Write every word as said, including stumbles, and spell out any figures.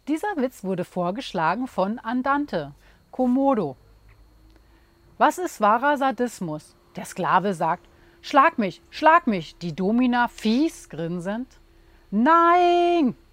Dieser Witz wurde vorgeschlagen von Andante, Komodo. Was ist wahrer Sadismus? Der Sklave sagt, schlag mich, schlag mich, die Domina fies grinsend. Nein!